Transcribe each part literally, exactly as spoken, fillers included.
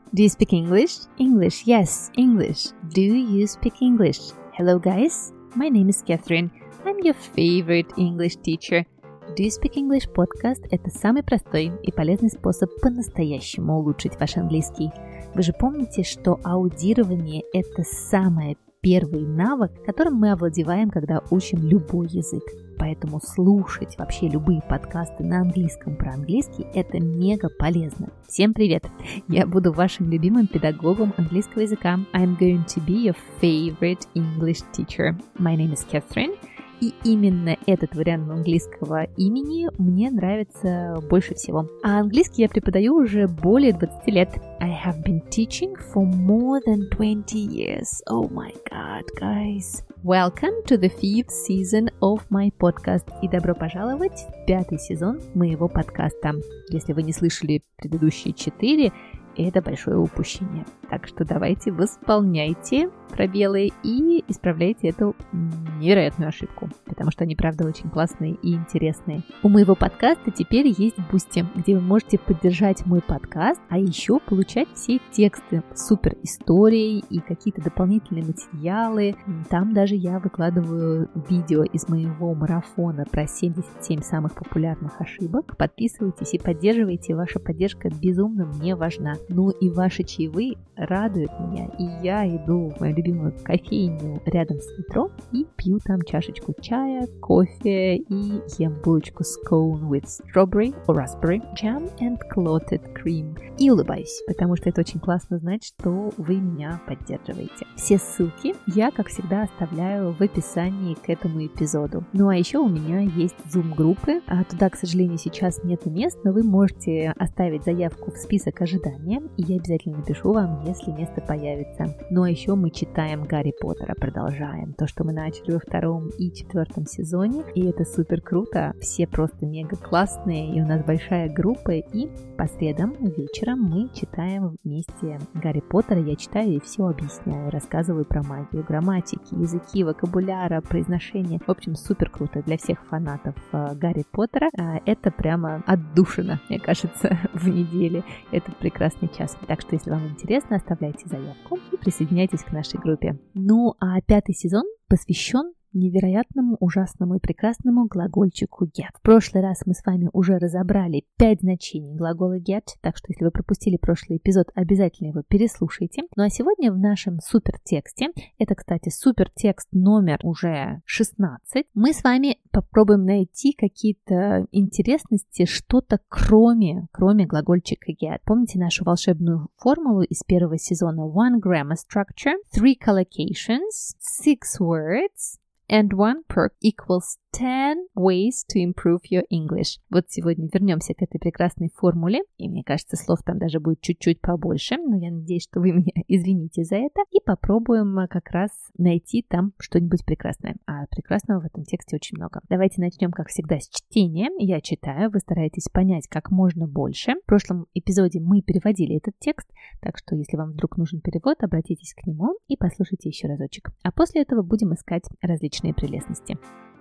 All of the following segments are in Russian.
Do you speak English? English, yes, English. Do you speak English? Hello, guys. My name is Catherine. I'm your favorite English teacher. Do you speak English podcast – это самый простой и полезный способ по-настоящему улучшить ваш английский. Вы же помните, что аудирование – это самый первый навык, которым мы овладеваем, когда учим любой язык. Поэтому слушать вообще любые подкасты на английском про английский – это мега полезно. Всем привет! Я буду вашим любимым педагогом английского языка. I'm going to be your favorite English teacher. My name is Catherine. И именно этот вариант английского имени мне нравится больше всего. А английский я преподаю уже более двадцать лет. I have been teaching for more than twenty years. Oh my god, guys. Welcome to the fifth season of my podcast. И добро пожаловать в пятый сезон моего подкаста. Если вы не слышали предыдущие четыре, это большое упущение. Так что давайте восполняйте пробелы и исправляйте эту невероятную ошибку, потому что они, правда, очень классные и интересные. У моего подкаста теперь есть Boosty, где вы можете поддержать мой подкаст, а еще получать все тексты, супер истории и какие-то дополнительные материалы. Там даже я выкладываю видео из моего марафона про семьдесят семь самых популярных ошибок. Подписывайтесь и поддерживайте, ваша поддержка безумно мне важна. Ну и ваши чаевые радуют меня, и я иду в мою любимую кофейню рядом с метро и пью там чашечку чая, кофе и ем булочку scone with strawberry or raspberry jam and clotted cream. И улыбаюсь, потому что это очень классно знать, что вы меня поддерживаете. Все ссылки я, как всегда, оставляю в описании к этому эпизоду. Ну а еще у меня есть Zoom-группы, а туда, к сожалению, сейчас нет мест, но вы можете оставить заявку в список ожидания, и я обязательно напишу вам, если место появится. Ну а еще мы читаем Гарри Поттера, продолжаем то, что мы начали во втором и четвертом сезоне, и это супер круто, все просто мега классные, и у нас большая группа, и по средам вечером мы читаем вместе Гарри Поттера, я читаю и все объясняю, рассказываю про магию, грамматики, языки, вокабуляра, произношения, в общем, супер круто для всех фанатов Гарри Поттера, это прямо отдушина, мне кажется, в неделе, этот прекрасный час. Так что, если вам интересно, оставляйте заявку и присоединяйтесь к нашей группе. Ну, а пятый сезон посвящен невероятному, ужасному и прекрасному глагольчику get. В прошлый раз мы с вами уже разобрали пять значений глагола get, так что если вы пропустили прошлый эпизод, обязательно его переслушайте. Ну а сегодня в нашем супертексте, это, кстати, супертекст номер уже шестнадцать, мы с вами попробуем найти какие-то интересности, что-то кроме, кроме глагольчика get. Помните нашу волшебную формулу из первого сезона? One grammar structure, three collocations, six words, and one perk equals ten ways to improve your English. Вот сегодня вернемся к этой прекрасной формуле, и мне кажется, слов там даже будет чуть-чуть побольше, но я надеюсь, что вы меня извините за это, и попробуем как раз найти там что-нибудь прекрасное. А прекрасного в этом тексте очень много. Давайте начнем, как всегда, с чтения. Я читаю, вы стараетесь понять как можно больше. В прошлом эпизоде мы переводили этот текст, так что если вам вдруг нужен перевод, обратитесь к нему и послушайте еще разочек. А после этого будем искать различные прелестности.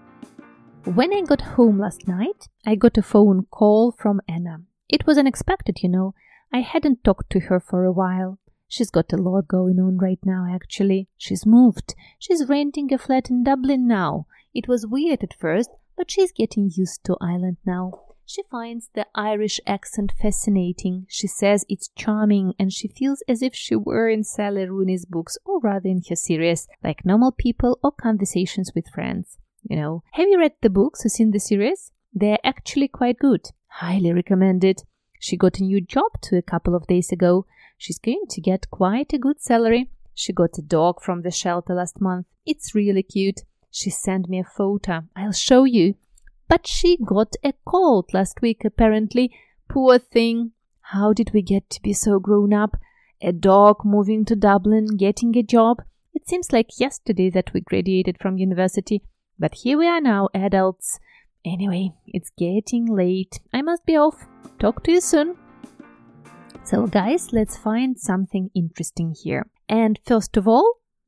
When I got home last night, I got a phone call from Anna. It was unexpected, you know. I hadn't talked to her for a while. She's got a lot going on right now, actually. She's moved. She's renting a flat in Dublin now. It was weird at first, but she's getting used to Ireland now. She finds the Irish accent fascinating. She says it's charming, and she feels as if she were in Sally Rooney's books, or rather in her series, like Normal People or Conversations with Friends. You know, have you read the books or seen the series? They're actually quite good. Highly recommended. She got a new job too a couple of days ago. She's going to get quite a good salary. She got a dog from the shelter last month. It's really cute. She sent me a photo. I'll show you. But she got a cold last week, apparently. Poor thing. How did we get to be so grown up? A dog moving to Dublin, getting a job. It seems like yesterday that we graduated from university. But here we are now, adults. Anyway, it's getting late. I must be off. Talk to you soon. So, guys, let's find something interesting here. And first of all,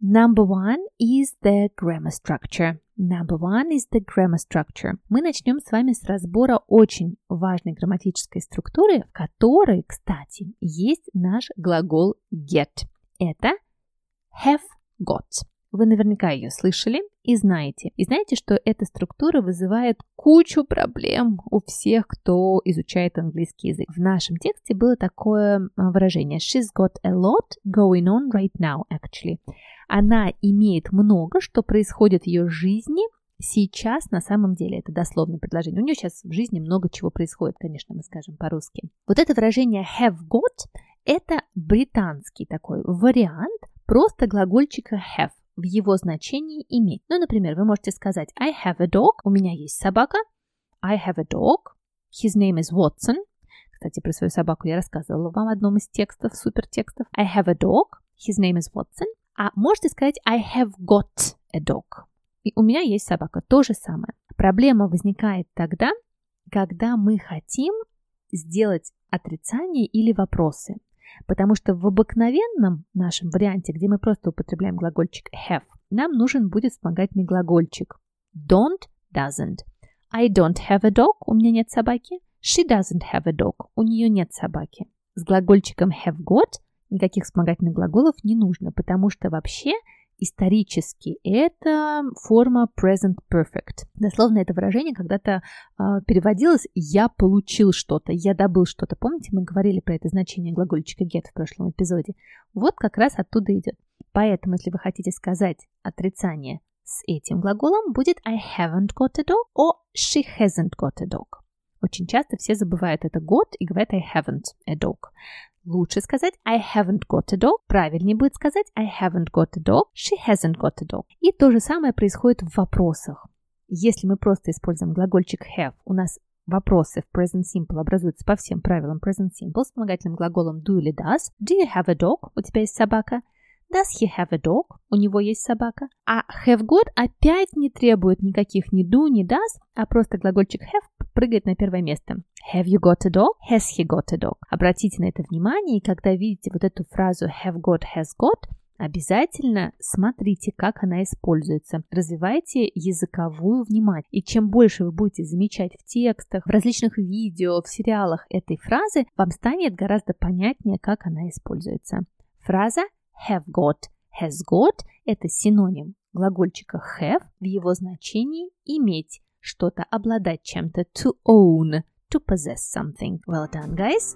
Number one is the grammar structure. Number one is the grammar structure. Мы начнем с вами с разбора очень важной грамматической структуры, в которой, кстати, есть наш глагол get. Это have got. Вы наверняка ее слышали и знаете. И знаете, что эта структура вызывает кучу проблем у всех, кто изучает английский язык. В нашем тексте было такое выражение She's got a lot going on right now, actually. Она имеет много, что происходит в ее жизни сейчас на самом деле. Это дословное предложение. У нее сейчас в жизни много чего происходит, конечно, мы скажем по-русски. Вот это выражение have got – это британский такой вариант просто глагольчика have. В его значении иметь. Ну, например, вы можете сказать I have a dog. У меня есть собака. I have a dog. His name is Watson. Кстати, про свою собаку я рассказывала вам в одном из текстов, супертекстов. I have a dog. His name is Watson. А можете сказать I have got a dog. И у меня есть собака. То же самое. Проблема возникает тогда, когда мы хотим сделать отрицание или вопросы. Потому что в обыкновенном нашем варианте, где мы просто употребляем глагольчик have, нам нужен будет вспомогательный глагольчик don't, doesn't. I don't have a dog, у меня нет собаки. She doesn't have a dog, у нее нет собаки. С глагольчиком have got никаких вспомогательных глаголов не нужно, потому что вообще исторически это форма present perfect. Дословно это выражение когда-то э, переводилось «я получил что-то», «я добыл что-то». Помните, мы говорили про это значение глагольчика get в прошлом эпизоде? Вот как раз оттуда идет. Поэтому, если вы хотите сказать отрицание с этим глаголом, будет I haven't got a dog or she hasn't got a dog. Очень часто все забывают это got и говорят I haven't a dog. Лучше сказать I haven't got a dog. Правильнее будет сказать I haven't got a dog. She hasn't got a dog. И то же самое происходит в вопросах. Если мы просто используем глагольчик have, у нас вопросы в present simple образуются по всем правилам present simple с вспомогательным глаголом do или does. Do you have a dog? У тебя есть собака. Does he have a dog? У него есть собака. А have got опять не требует никаких ни do, ни does, а просто глагольчик have прыгает на первое место. Have you got a dog? Has he got a dog? Обратите на это внимание, и когда видите вот эту фразу have got, has got, обязательно смотрите, как она используется. Развивайте языковую внимание. И чем больше вы будете замечать в текстах, в различных видео, в сериалах этой фразы, вам станет гораздо понятнее, как она используется. Фраза have got, has got – это синоним глагольчика have в его значении иметь, что-то обладать чем-то, to own, to possess something. Well done, guys!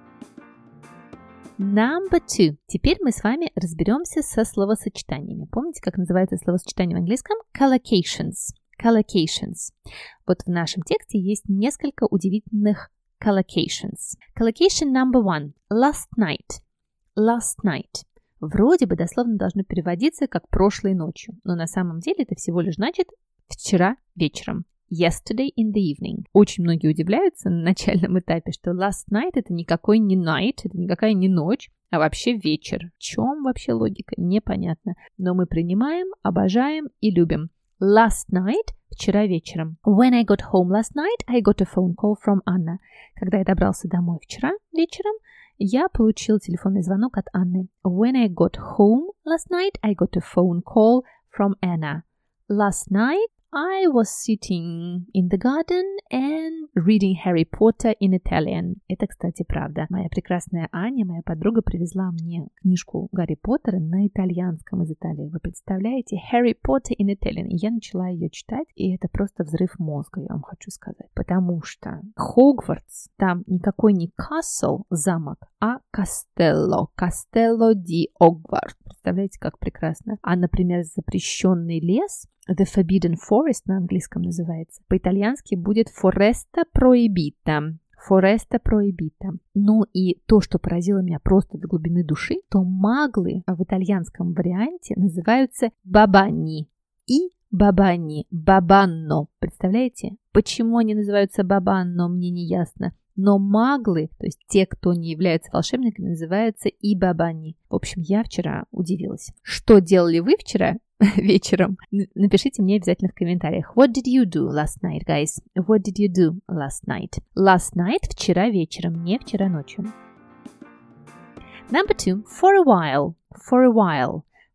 Number two. Теперь мы с вами разберемся со словосочетаниями. Помните, как называется словосочетание в английском? Collocations. Collocations. Вот в нашем тексте есть несколько удивительных collocations. Collocation number one. Last night. Last night. Вроде бы дословно должно переводиться как «прошлой ночью», но на самом деле это всего лишь значит «вчера вечером». Yesterday in the evening. Очень многие удивляются на начальном этапе, что last night это никакой не night, это никакая не ночь, а вообще вечер. В чем вообще логика? Непонятно. Но мы принимаем, обожаем и любим. Last night – вчера вечером. When I got home last night, I got a phone call from Anna. Когда я добрался домой вчера вечером, я получил телефонный звонок от Анны. When I got home last night, I got a phone call from Anna. Last night, I was sitting in the garden and reading Harry Potter in Italian. Это, кстати, правда. Моя прекрасная Аня, моя подруга, привезла мне книжку Гарри Поттера на итальянском из Италии. Вы представляете? Harry Potter in Italian. И я начала ее читать, и это просто взрыв мозга, я вам хочу сказать. Потому что Хогвартс, там никакой не castle, замок, а Castello. Castello di Hogwarts. Представляете, как прекрасно. А, например, запрещенный лес, The Forbidden Forest на английском называется. По-итальянски будет Foresta Proibita. Foresta Proibita. Ну и то, что поразило меня просто до глубины души, то маглы в итальянском варианте называются бабани. И бабани. Бабанно. Представляете? Почему они называются бабанно, мне не ясно. Но маглы, то есть те, кто не являются волшебниками, называются и бабани. В общем, я вчера удивилась. Что делали вы вчера вечером? Напишите мне обязательно в комментариях. What did you do last night, guys? What did you do last night? Last night – вчера вечером, не вчера ночью. Number two. For a while. For a while.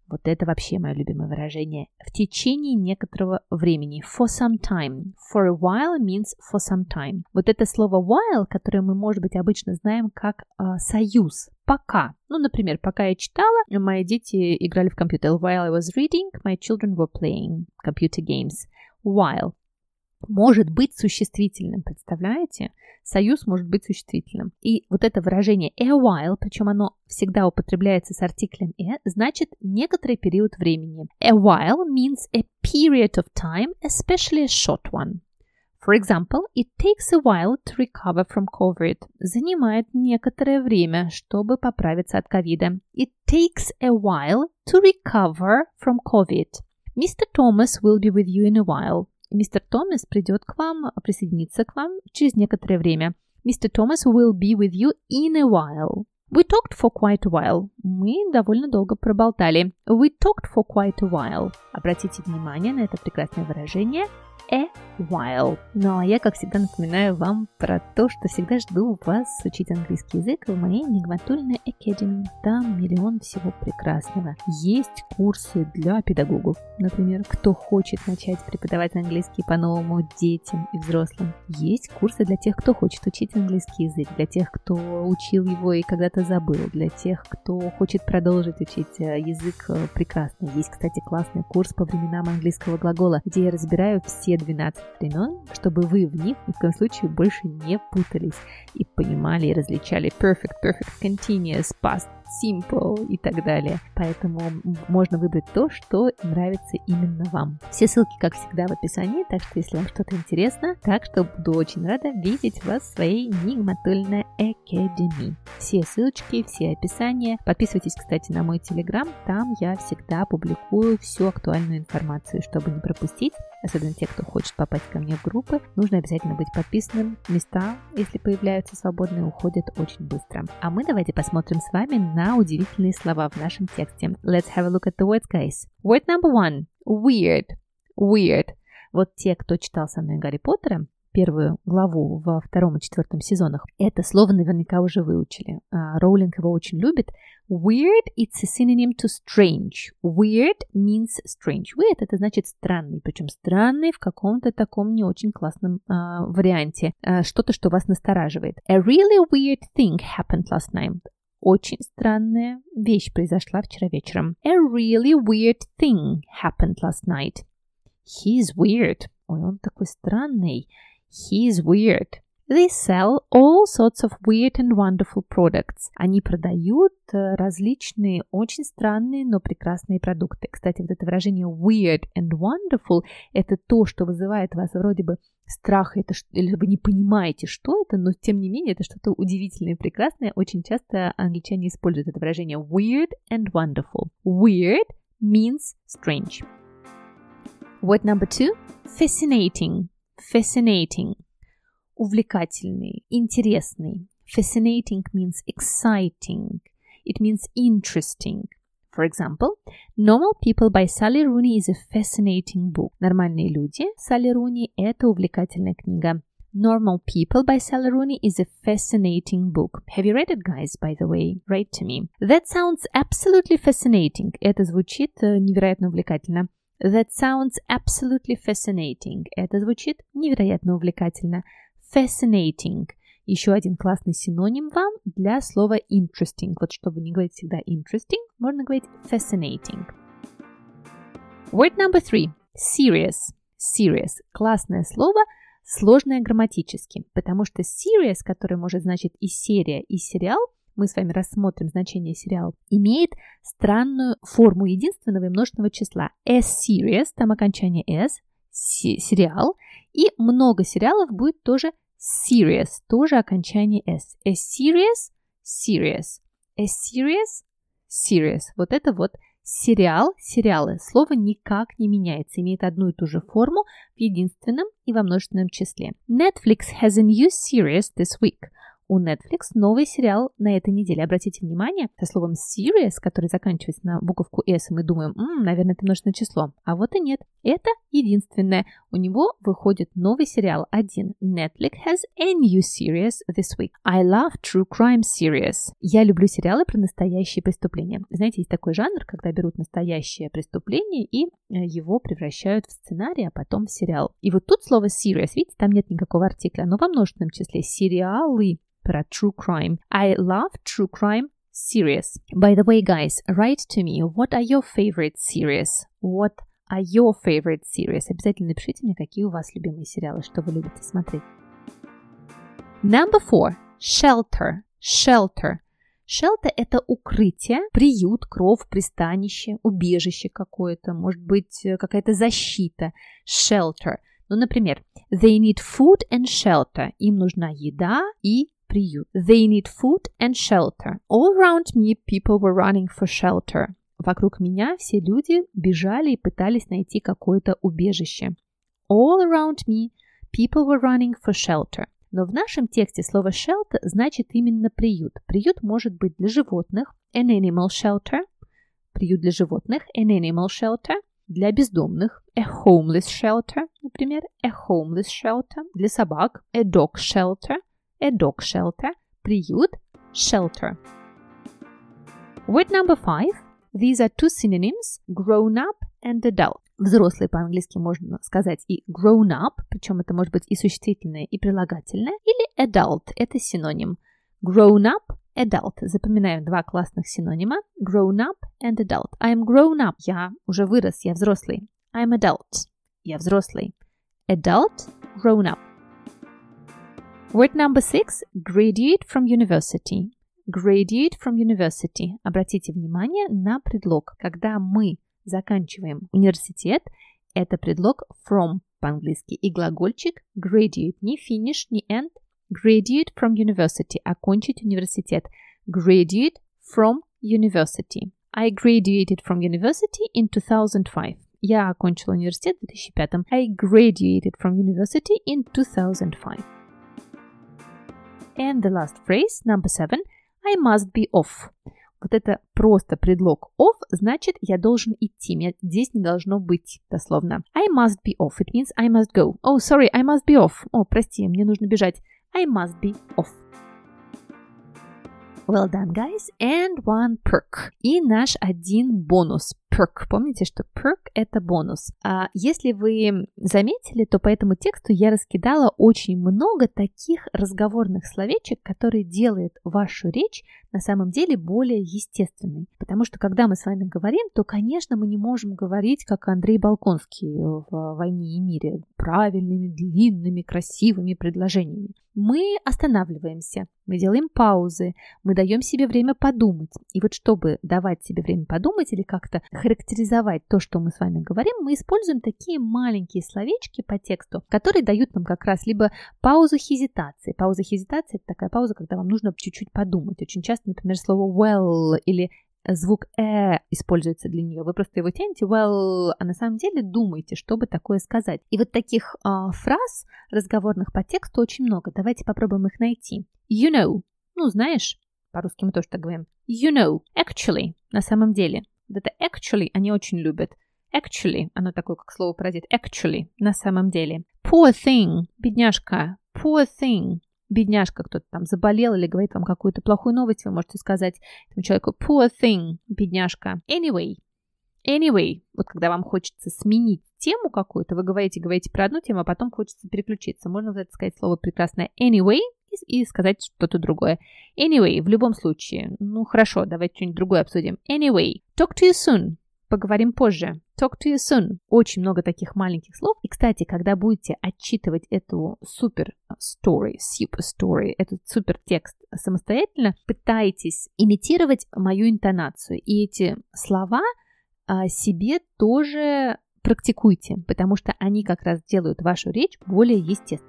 Вот это вообще мое любимое выражение. В течение некоторого времени. For some time. For a while means for some time. Вот это слово while, которое мы, может быть, обычно знаем как э, союз. Пока. Ну, например, пока я читала, мои дети играли в компьютер. While I was reading, my children were playing computer games. While. Может быть существительным, представляете? Союз может быть существительным. И вот это выражение a while, причем оно всегда употребляется с артиклем a, значит некоторый период времени. A while means a period of time, especially a short one. For example, it takes a while to recover from COVID. Занимает некоторое время, чтобы поправиться от ковида. It takes a while to recover from COVID. Mister Thomas will be with you in a while. Мистер Томас придет к вам, присоединится к вам через некоторое время. Mister Thomas will be with you in a while. We talked for quite a while. Мы довольно долго проболтали. We talked for quite a while. Обратите внимание на это прекрасное выражение a while. Ну а я, как всегда, напоминаю вам про то, что всегда жду вас учить английский язык в моей Нигматульной Academy. Там миллион всего прекрасного. Есть курсы для педагогов, например, кто хочет начать преподавать английский по-новому детям и взрослым. Есть курсы для тех, кто хочет учить английский язык, для тех, кто учил его и когда-то забыл, для тех, кто хочет продолжить учить язык прекрасно. Есть, кстати, классный курс по временам английского глагола, где я разбираю все двенадцать времен, чтобы вы в них ни в коем случае больше не путались и понимали и различали perfect, perfect, continuous, past, simple и так далее. Поэтому можно выбрать то, что нравится именно вам. Все ссылки, как всегда, в описании, так что если вам что-то интересно, так что буду очень рада видеть вас в своей Нигматульной Academy. Все ссылочки, все описания. Подписывайтесь, кстати, на мой телеграм, там я всегда публикую всю актуальную информацию, чтобы не пропустить. Особенно те, кто хочет попасть ко мне в группы, нужно обязательно быть подписанным. Места, если появляются свободные, уходят очень быстро. А мы давайте посмотрим с вами на удивительные слова в нашем тексте. Let's have a look at the words, guys. Word number one. Weird. Weird. Вот те, кто читал со мной Гарри Поттера, первую главу во втором и четвертом сезонах, это слово наверняка уже выучили. Роулинг его очень любит. Weird, it's a synonym to strange. Weird means strange. Weird — это значит странный, причем странный в каком-то таком не очень классном э, варианте. Э, что-то, что вас настораживает. A really weird thing happened last night. Очень странная вещь произошла вчера вечером. A really weird thing happened last night. He's weird. Ой, он такой странный. He's weird. They sell all sorts of weird and wonderful products. Они продают различные, очень странные, но прекрасные продукты. Кстати, вот это выражение weird and wonderful – это то, что вызывает у вас вроде бы страх, это, или вы не понимаете, что это, но тем не менее это что-то удивительное и прекрасное. Очень часто англичане используют это выражение weird and wonderful. Weird means strange. Word number two – fascinating. Fascinating. Увлекательный, интересный. Fascinating means exciting. It means interesting. For example, Normal People by Sally Rooney is a fascinating book. Нормальные люди, Салли Руни, это увлекательная книга. Normal People by Sally Rooney is a fascinating book. Have you read it, guys, by the way? Write to me. That sounds absolutely fascinating. Это звучит невероятно увлекательно. That sounds absolutely fascinating. Это звучит невероятно увлекательно. Fascinating. Еще один классный синоним вам для слова interesting. Вот чтобы не говорить всегда interesting, можно говорить fascinating. Word number three. Serious. Serious. Классное слово, сложное грамматически, потому что serious, которое может значить и серия, и сериал, мы с вами рассмотрим значение сериал, имеет странную форму единственного и множественного числа. A series, там окончание s, сериал, и много сериалов будет тоже serious, тоже окончание s. A series, serious. A series, serious. Вот это вот сериал, сериалы. Слово никак не меняется, имеет одну и ту же форму в единственном и во множественном числе. Netflix has a new series this week. У Netflix новый сериал на этой неделе. Обратите внимание, со словом serious, который заканчивается на буковку S, мы думаем, м-м, наверное, это множественное число. А вот и нет. Это единственное, у него выходит новый сериал один. Netflix has a new series this week. I love true crime series. Я люблю сериалы про настоящие преступления. Знаете, есть такой жанр, когда берут настоящее преступление и его превращают в сценарий, а потом в сериал. И вот тут слово series, видите, там нет никакого артикля, но во множественном числе сериалы про true crime. I love true crime series. By the way, guys, write to me, what are your favorite series? What are your favorite series? Обязательно напишите мне, какие у вас любимые сериалы, что вы любите смотреть. Number four. Shelter. Shelter. Shelter – это укрытие, приют, кров, пристанище, убежище какое-то, может быть, какая-то защита. Shelter. Ну, например, they need food and shelter. Им нужна еда и приют. They need food and shelter. All around me people were running for shelter. Вокруг меня все люди бежали и пытались найти какое-то убежище. All around me people were running for shelter. Но в нашем тексте слово shelter значит именно приют. Приют может быть для животных, an animal shelter. Приют для животных, an animal shelter. Для бездомных, a homeless shelter, например, a homeless shelter. Для собак, a dog shelter. A dog shelter, приют, shelter. Word number five. These are two synonyms, grown up and adult. Взрослый по-английски можно сказать и grown up, причем это может быть и существительное, и прилагательное, или adult, это синоним. Grown up, adult. Запоминаем два классных синонима. Grown up and adult. I'm grown up. Я уже вырос, я взрослый. I'm adult. Я взрослый. Adult, grown up. Word number six. Graduate from university. Graduate from university. Обратите внимание на предлог. Когда мы заканчиваем университет, это предлог from по-английски и глагольчик graduate. Не finish, не end. Graduate from university. Окончить университет. Graduate from university. I graduated from university in two thousand five. Я окончила университет в две тысячи пятом. I graduated from university in two thousand five. And the last phrase, number seven, I must be off. Вот это просто предлог off, значит, я должен идти. Меня здесь не должно быть, дословно. I must be off. It means I must go. Oh, sorry, I must be off. О, прости, мне нужно бежать. I must be off. Well done, guys. And one perk. И наш один бонус. Perk. Помните, что perk – это бонус. А если вы заметили, то по этому тексту я раскидала очень много таких разговорных словечек, которые делают вашу речь на самом деле более естественной. Потому что, когда мы с вами говорим, то, конечно, мы не можем говорить, как Андрей Болконский в «Войне и мире», правильными, длинными, красивыми предложениями. Мы останавливаемся, мы делаем паузы, мы даем себе время подумать. И вот чтобы давать себе время подумать или как-то характеризовать то, что мы с вами говорим, мы используем такие маленькие словечки по тексту, которые дают нам как раз либо паузу хезитации. Пауза хезитации – это такая пауза, когда вам нужно чуть-чуть подумать. Очень часто, например, слово well или звук «э» используется для нее. Вы просто его тянете well, а на самом деле думаете, чтобы такое сказать. И вот таких э, фраз разговорных по тексту очень много. Давайте попробуем их найти. You know. Ну, знаешь, по-русски мы тоже так говорим. You know. Actually. На самом деле. Вот это actually они очень любят. Actually. Оно такое, как слово паразит. Actually. На самом деле. Poor thing. Бедняжка. Poor thing. Бедняжка, кто-то там заболел или говорит вам какую-то плохую новость, вы можете сказать этому человеку poor thing, бедняжка. Anyway, anyway, вот когда вам хочется сменить тему какую-то, вы говорите, говорите про одну тему, а потом хочется переключиться. Можно вот это сказать слово прекрасное anyway и, и сказать что-то другое. Anyway, в любом случае, ну хорошо, давайте что-нибудь другое обсудим. Anyway, talk to you soon. Поговорим позже. Talk to you soon. Очень много таких маленьких слов. И, кстати, когда будете отчитывать эту супер story, super story, этот супер текст самостоятельно, пытайтесь имитировать мою интонацию. И эти слова а, себе тоже практикуйте, потому что они как раз делают вашу речь более естественной.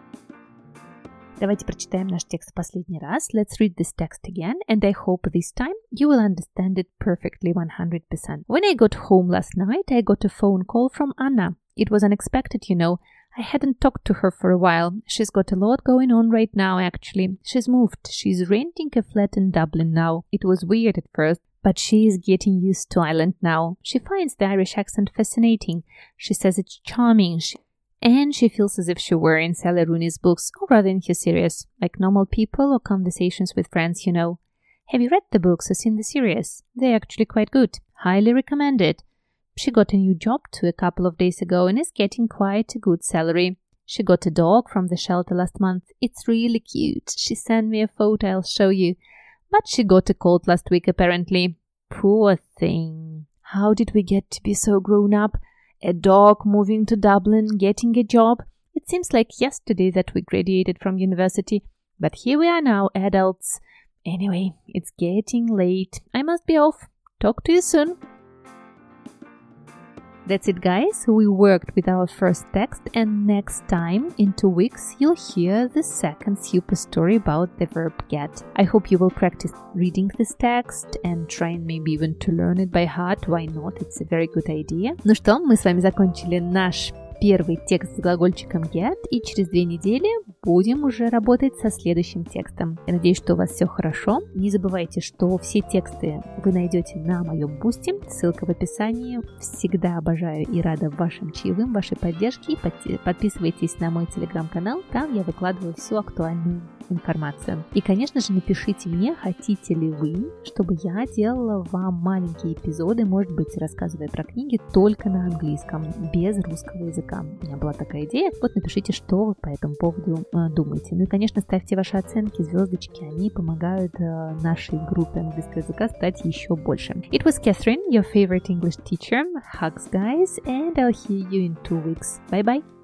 Давайте прочитаем наш текст в последний раз. Let's read this text again, and I hope this time you will understand it perfectly one hundred percent. When I got home last night, I got a phone call from Anna. It was unexpected, you know. I hadn't talked to her for a while. She's got a lot going on right now, actually. She's moved. She's renting a flat in Dublin now. It was weird at first, But she is getting used to Ireland now. She finds the Irish accent fascinating. She says it's charming. She, and she feels as if she were in Sally Rooney's books, or rather in his series, like Normal People or Conversations with Friends, you know. Have you read the books or seen the series? They're actually quite good. Highly recommended. She got a new job too a couple of days ago and is getting quite a good salary. She got a dog from the shelter last month. It's really cute. She sent me a photo, I'll show you. But she got a cold last week apparently. Poor thing. How did we get to be so grown up? A dog moving to Dublin, getting a job. It seems like yesterday that we graduated from university. But here we are now, adults. Anyway, it's getting late. I must be off. Talk to you soon. That's it, guys. We worked with our first text, and next time, in two weeks, you'll hear the second super story about the verb get. I hope you will practice reading this text and trying maybe even to learn it by heart. Why not? It's a very good idea. Ну что, мы с вами закончили наш первый текст с глагольчиком get, и через две недели будем уже работать со следующим текстом. Я надеюсь, что у вас все хорошо. Не забывайте, что все тексты вы найдете на моем бусте. Ссылка в описании. Всегда обожаю и рада вашим чаевым, вашей поддержке. И подписывайтесь на мой телеграм-канал. Там я выкладываю всю актуальную информацию. И, конечно же, напишите мне, хотите ли вы, чтобы я делала вам маленькие эпизоды, может быть, рассказывая про книги только на английском, без русского языка. У меня была такая идея. Вот напишите, что вы по этому поводу э, думаете. Ну и, конечно, ставьте ваши оценки, звездочки. Они помогают э, нашей группе английского языка стать еще больше. It was Catherine, your favorite English teacher. Hugs, guys, and I'll hear you in two weeks. Bye-bye.